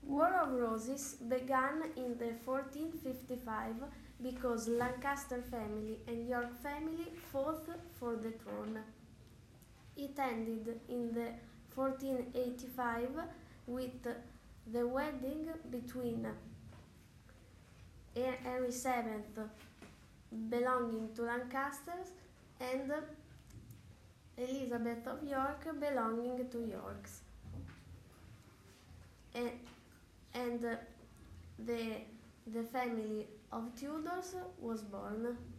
War of Roses began in the 1455 because Lancaster family and York family fought for the throne. It ended in the 1485 with the wedding between Henry VII, belonging to Lancasters, and Elizabeth of York, belonging to Yorks. And the family of Tudors was born.